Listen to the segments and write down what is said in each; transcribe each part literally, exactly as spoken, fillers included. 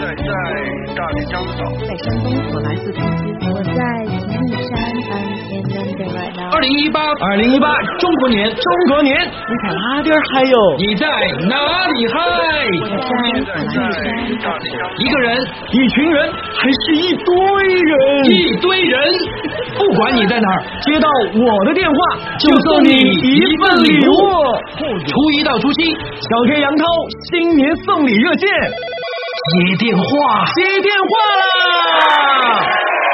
在在大连江岛， 在山东，我来自重庆，我在秦岭山。I'm in London right now。 二零一八，二零一八，中国年，中国年， 你在哪点嗨哟？ 你在哪里嗨？ 我在在在大连江岛， 一个人， 一群人，还是一堆人？ 一堆人，不管你在哪儿， 接到我的电话就送你一份礼物。初一到初七， 小 K 杨涛新年送礼热线， 接电话， 接电话啦！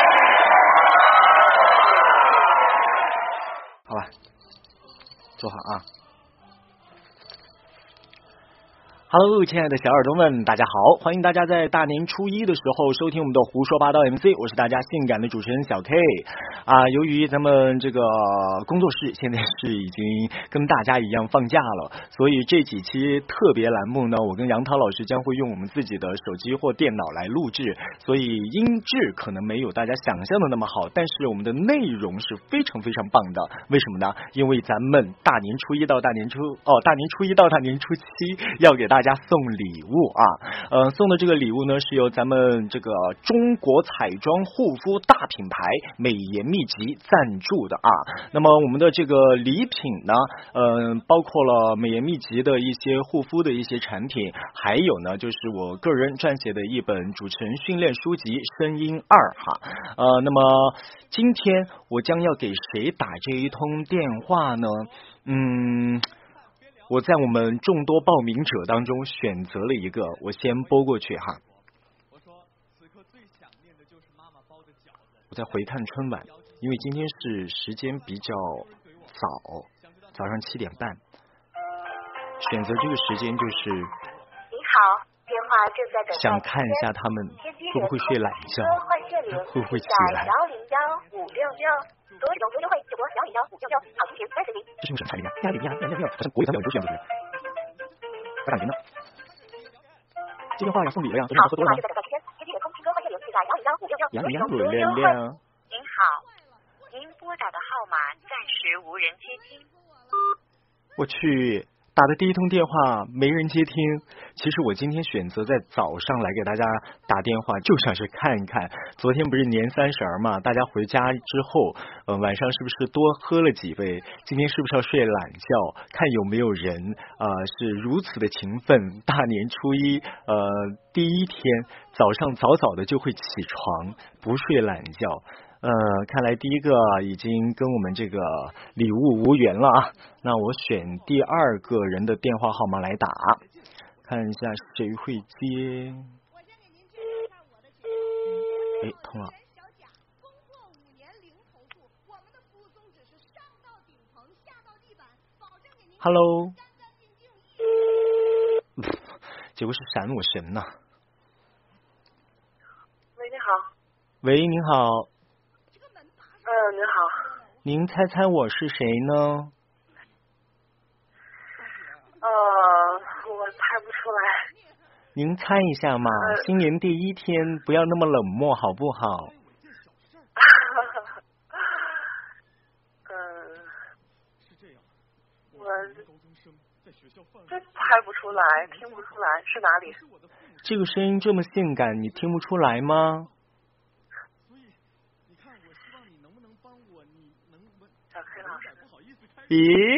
好吧，坐好啊。Hello， 亲爱的小耳朵们，大家好！欢迎大家在大年初一的时候收听我们的胡说八道 M C， 我是大家性感的主持人小 K 啊。由于咱们这个工作室现在是已经跟大家一样放假了，所以这几期特别栏目呢，我跟杨涛老师将会用我们自己的手机或电脑来录制，所以音质可能没有大家想象的那么好，但是我们的内容是非常非常棒的。为什么呢？因为咱们大年初一到大年初哦，大年初一到大年初七要给大家大家送礼物啊，呃，送的这个礼物呢是由咱们这个中国彩妆护肤大品牌美颜秘籍赞助的啊。那么我们的这个礼品呢，呃，包括了美颜秘籍的一些护肤的一些产品，还有呢就是我个人撰写的一本主持人训练书籍《声音二》哈。呃，那么今天我将要给谁打这一通电话呢？嗯。我在我们众多报名者当中选择了一个，我先拨过去哈。我说此刻最想念的就是妈妈包的饺子。我在回看春晚，因为今天是时间比较早，早上七点半，选择这个时间就是。 你好，电话正在等待。 想看一下他们会不会睡懒觉，会不会起来。 幺零幺五六六。所有种优惠就拨幺零幺五六六，好心情三十名。 这是用什么彩铃呀？呀铃呀呀呀呀！好像国语条标你都选不出来。我感觉呢，这电话要送礼了呀，昨天喝多了吗？幺零幺五六六。 您好，您拨打的号码暂时无人接听。 我去。打的第一通电话没人接听，其实我今天选择在早上来给大家打电话，就想是看一看，昨天不是年三十嘛，大家回家之后，呃，晚上是不是多喝了几杯？今天是不是要睡懒觉？看有没有人呃是如此的勤奋，大年初一呃第一天早上早早的就会起床，不睡懒觉。呃，看来第一个已经跟我们这个礼物无缘了啊。那我选第二个人的电话号码来打，看一下谁会接。哎，通了。Hello。结果是闪我神呐。 喂，你好。 喂，您好。 嗯，您好。 您猜猜我是谁呢？ 呃，我猜不出来。 您猜一下嘛，呃、新年第一天不要那么冷漠好不好？ 嗯，我这猜不出来，听不出来是哪里？ 这个声音这么性感，你听不出来吗？咦，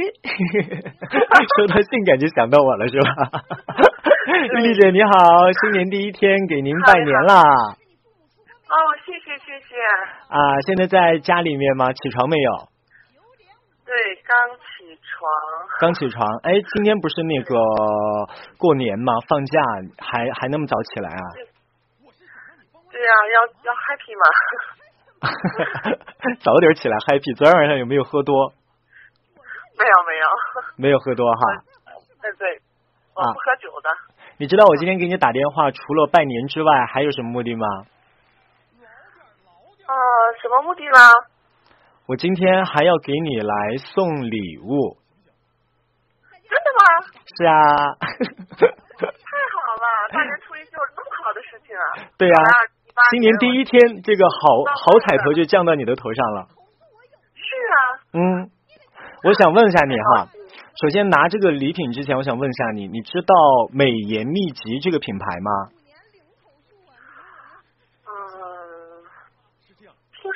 说到性感就想到我了是吧？丽丽姐你好，新年第一天给您拜年啦！ 哦，谢谢谢谢。 啊，现在在家里面吗？起床没有？ 对，刚起床。 刚起床，哎，今天不是那个过年吗？放假还还那么早起来啊？ 对呀、啊，要要 happy 嘛。 早点起来 happy， 昨天晚上有没有喝多？ 没有没有， 没有喝多哈。 对对，我不喝酒的。啊、 你知道我今天给你打电话，除了拜年之外，还有什么目的吗？ 呃，什么目的啦？ 我今天还要给你来送礼物。 真的吗？ 是啊。 太好了，大年初一就有那么好的事情啊！ 对呀、啊，新年第一天，这个好好彩头就降到你的头上了。 是啊。 嗯。我想问一下你哈，首先拿这个礼品之前，我想问一下你，你知道美颜秘籍这个品牌吗？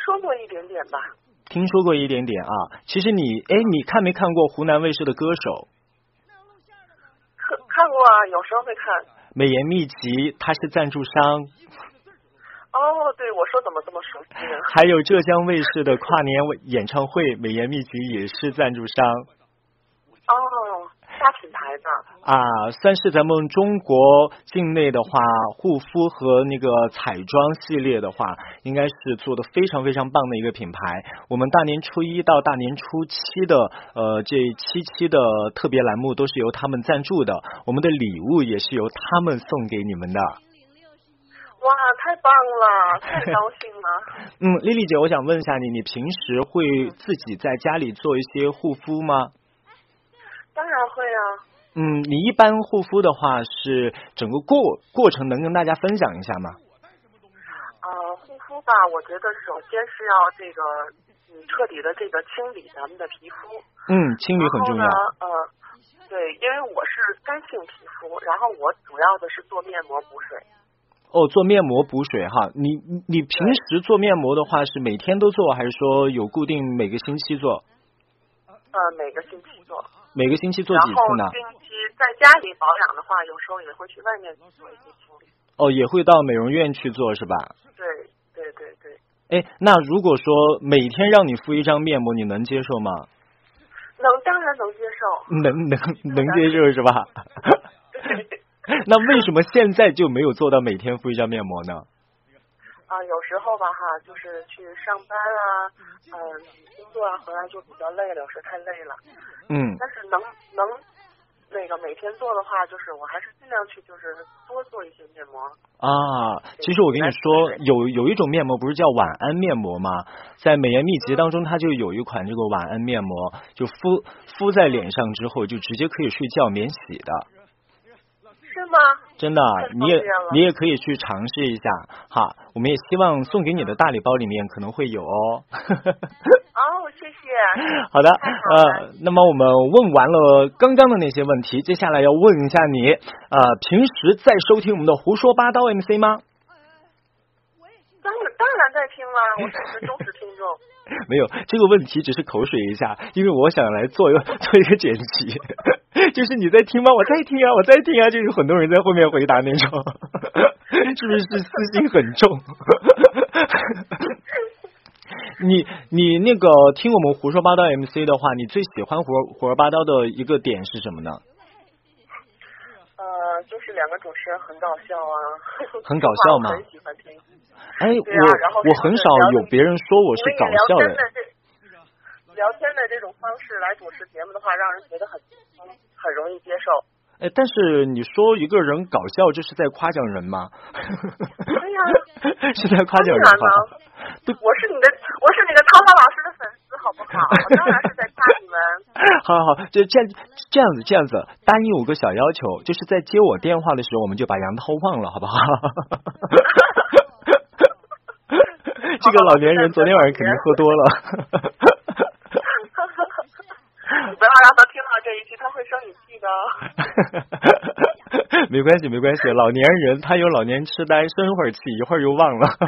说过一点点吧。 听说过一点点啊。其实你，哎，你看没看过湖南卫视的歌手？ 看看过啊，有时候会看。 美颜秘籍，他是赞助商。 哦，对，我说怎么这么熟悉呢？ 还有浙江卫视的跨年演唱会，美颜秘籍也是赞助商。 哦，大品牌的啊，算是咱们中国境内的话，护肤和那个彩妆系列的话，应该是做的非常非常棒的一个品牌。我们大年初一到大年初七的呃这七期的特别栏目都是由他们赞助的，我们的礼物也是由他们送给你们的。 哇，太棒了，太高兴了。 嗯，丽丽姐，我想问一下你，你平时会自己在家里做一些护肤吗？ 当然会啊。 嗯，你一般护肤的话是整个过过程能跟大家分享一下吗？ 呃，护肤吧，我觉得首先是要这个嗯彻底的这个清理咱们的皮肤。 嗯，清理很重要。 呃，对，因为我是干性皮肤，然后我主要的是做面膜补水。 哦，做面膜补水哈，你你平时做面膜的话是每天都做，还是说有固定每个星期做？ 呃，每个星期做。 每个星期做几次呢？ 然后定期在家里保养的话，有时候也会去外面做一些清理。 哦，也会到美容院去做是吧？ 对对对对。 哎，那如果说每天让你敷一张面膜，你能接受吗？ 能，当然能接受。 能能能接受是吧？那为什么现在就没有做到每天敷一张面膜呢？ 啊、呃，有时候吧哈，就是去上班啊，嗯、呃，工作啊，回来就比较累了，有时太累了。 嗯。 但是能能那个每天做的话，就是我还是尽量去就是多做一些面膜。啊， 其实我跟你说，有有一种面膜不是叫晚安面膜吗？在美颜秘籍当中，它就有一款这个晚安面膜，就敷敷在脸上之后，就直接可以睡觉免洗的。 是吗？ 真的，你也你也可以去尝试一下哈。我们也希望送给你的大礼包里面可能会有哦。 哦，谢谢。 好的，呃，那么我们问完了刚刚的那些问题，接下来要问一下你，呃，平时在收听我们的胡说八道 M C 吗？ 当然当然在听啦，我是你的忠实听众。 没有，这个问题只是口水一下，因为我想来做一个做一个剪辑。就是你在听吗？我在听啊，我在听啊，就是很多人在后面回答那种，是不是私心很重？你你那个听我们胡说八道 M C 的话，你最喜欢胡胡说八道的一个点是什么呢？ 呃，就是两个主持人很搞笑啊。 很搞笑吗？ 很喜欢听。 哎， 啊、 我我很少有别人说我是搞笑的。 聊天的这种方式来主持节目的话，让人觉得很很容易接受。 哎，但是你说一个人搞笑，这是在夸奖人吗？ 对呀、 啊，是在夸奖人吗？ 我是你的，我是你的涛涛老师的粉丝，好不好？我当然是在夸你们。 好好好，就这样这样子这样子，答应我个小要求，就是在接我电话的时候，我们就把杨涛忘了，好不好？这个老年人昨天晚上肯定喝多了。 你不要让他听到这一期，他会生你气的。没关系没关系，老年人他有老年痴呆，生会儿气一会儿又忘了。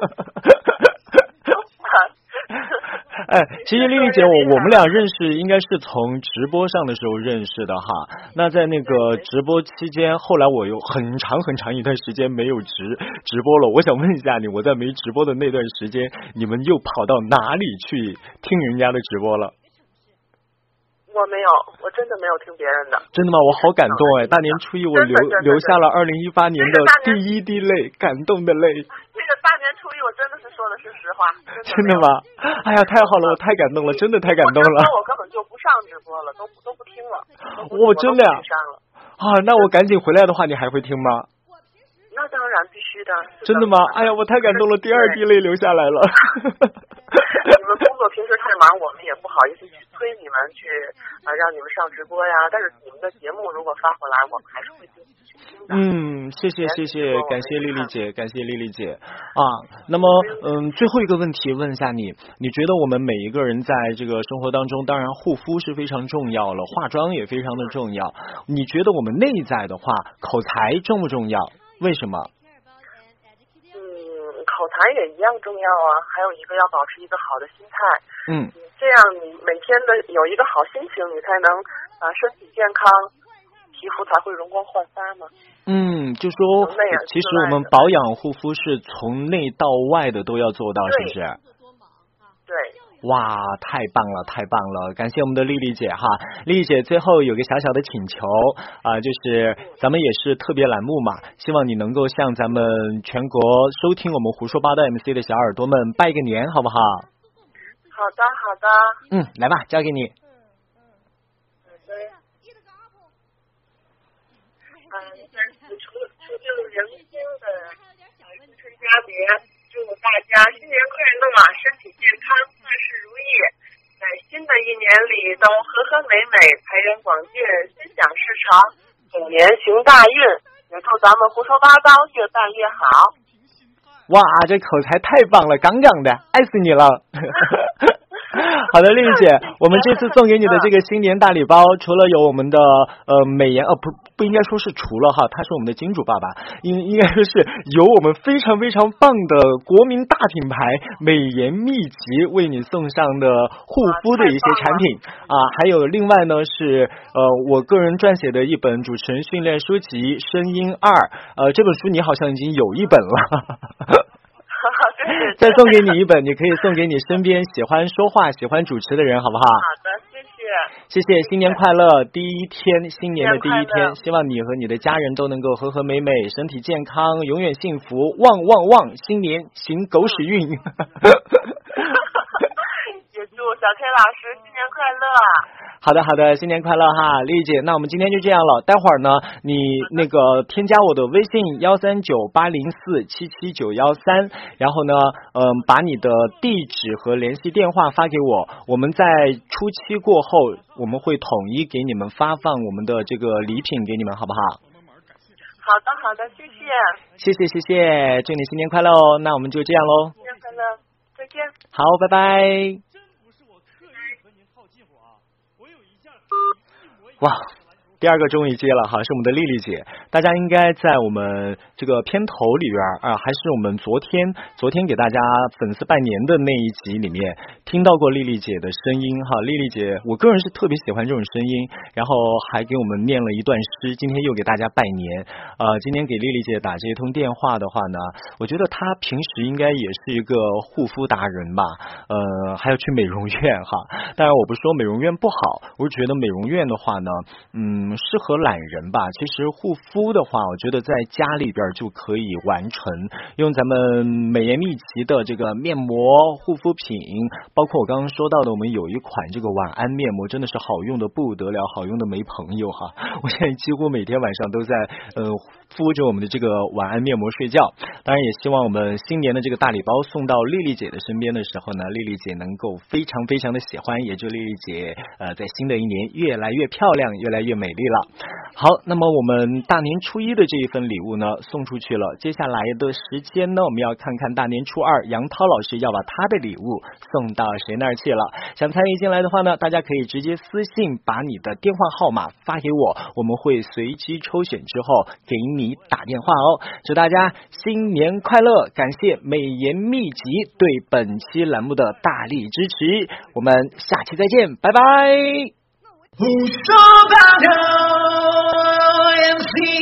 哎，其实丽丽姐，我我们俩认识应该是从直播上的时候认识的哈。那在那个直播期间，后来我有很长很长一段时间没有直直播了。我想问一下你，我在没直播的那段时间，你们又跑到哪里去听人家的直播了？ 我没有，我真的没有听别人的。 真的吗？我好感动哎！大年初一我流流下了二零一八年的第一滴泪，感动的泪。 这个大年初一我真的是说的是实话。 真的吗？哎呀，太好了，我太感动了，真的太感动了。 我根本就不上直播了，都都不听了。 我真的呀！啊，那我赶紧回来的话，你还会听吗？ 那当然必须的。 真的吗？哎呀，我太感动了，第二滴泪流下来了。 你们工作平时太忙，我们也不好意思去催你们去啊、呃，让你们上直播呀。但是你们的节目如果发回来，我们还是会听去听的。 嗯，谢谢谢谢，感谢丽丽姐，感谢丽丽姐啊。那么嗯，最后一个问题问一下你，你觉得我们每一个人在这个生活当中，当然护肤是非常重要了，化妆也非常的重要。你觉得我们内在的话，口才重不重要？为什么？ 嗯，口口才也一样重要啊，还有一个要保持一个好的心态。 嗯， 这样你每天的有一个好心情，你才能啊身体健康，皮肤才会容光焕发嘛。 嗯，就说其实我们保养护肤是从内到外的都要做到，是不是？ 对。 哇，太棒了，太棒了！感谢我们的丽丽姐哈。丽丽姐最后有个小小的请求啊、呃，就是咱们也是特别栏目嘛，希望你能够向咱们全国收听我们胡说八道 M C 的小耳朵们拜个年，好不好？ 好的，好的。 嗯，来吧，交给你。 嗯，在此除除旧迎新的新春佳节，祝大家新年快乐，身体健康，万事如意，在新的一年里都和和美美，财源广进，心想事成，虎年行大运，也祝咱们胡说八道越办越好。 哇，这口才太棒了，杠杠的，爱死你了。好的，丽丽姐，我们这次送给你的这个新年大礼包，除了有我们的呃美颜，呃不不应该说是除了哈，他是我们的金主爸爸，应应该说是有我们非常非常棒的国民大品牌美颜秘籍为你送上的护肤的一些产品啊，还有另外呢是呃我个人撰写的一本主持人训练书籍《声音二》，呃这本书你好像已经有一本了。再送给你一本，你可以送给你身边喜欢说话、喜欢主持的人，好不好？ 好的，谢谢。 谢谢，新年快乐！第一天，新年的第一天，希望你和你的家人都能够和和美美，身体健康，永远幸福，旺旺旺！新年行狗屎运。也祝小 K 老师新年快乐。 好的好的，新年快乐哈，丽丽姐，那我们今天就这样了。待会儿呢，你那个添加我的微信幺三九八零四七七九幺三，然后呢，嗯、呃，把你的地址和联系电话发给我，我们在初期过后，我们会统一给你们发放我们的这个礼品给你们，好不好？ 好的好的，谢谢。 谢谢谢谢，祝你新年快乐哦。那我们就这样喽。 新年快乐，再见。 好，拜拜。哇，第二个终于接了哈，是我们的丽丽姐。大家应该在我们这个片头里边啊，还是我们昨天昨天给大家粉丝拜年的那一集里面听到过丽丽姐的声音哈。丽丽姐，我个人是特别喜欢这种声音，然后还给我们念了一段诗，今天又给大家拜年。呃，今天给丽丽姐打这一通电话的话呢，我觉得她平时应该也是一个护肤达人吧，呃，还要去美容院哈。当然我不是说美容院不好，我觉得美容院的话呢，嗯，适合懒人吧。其实护肤的话，我觉得在家里边就可以完成，用咱们美颜秘籍的这个面膜、护肤品，包括我刚刚说到的，我们有一款这个晚安面膜，真的是好用的不得了，好用的没朋友哈。我现在几乎每天晚上都在呃敷着我们的这个晚安面膜睡觉。当然也希望我们新年的这个大礼包送到丽丽姐的身边的时候呢，丽丽姐能够非常非常的喜欢，也祝丽丽姐呃在新的一年越来越漂亮，越来越美丽了。好，那么我们大年初一的这一份礼物呢送出去了，接下来的时间呢，我们要看看大年初二杨涛老师要把他的礼物送到谁那儿去了。想参与进来的话呢，大家可以直接私信把你的电话号码发给我，我们会随机抽选之后给你打电话哦。祝大家新年快乐，感谢美颜秘籍对本期栏目的大力支持，我们下期再见，拜拜。 胡说八道 M C